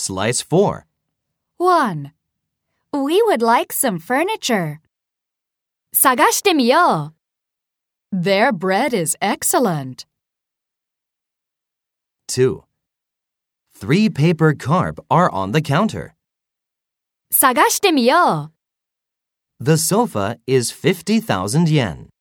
Slice 4. 1. We would like some furniture. 探してみよう. Their bread is excellent. 2. 3 paper carp are on the counter. 探してみよう. The sofa is 50,000 yen.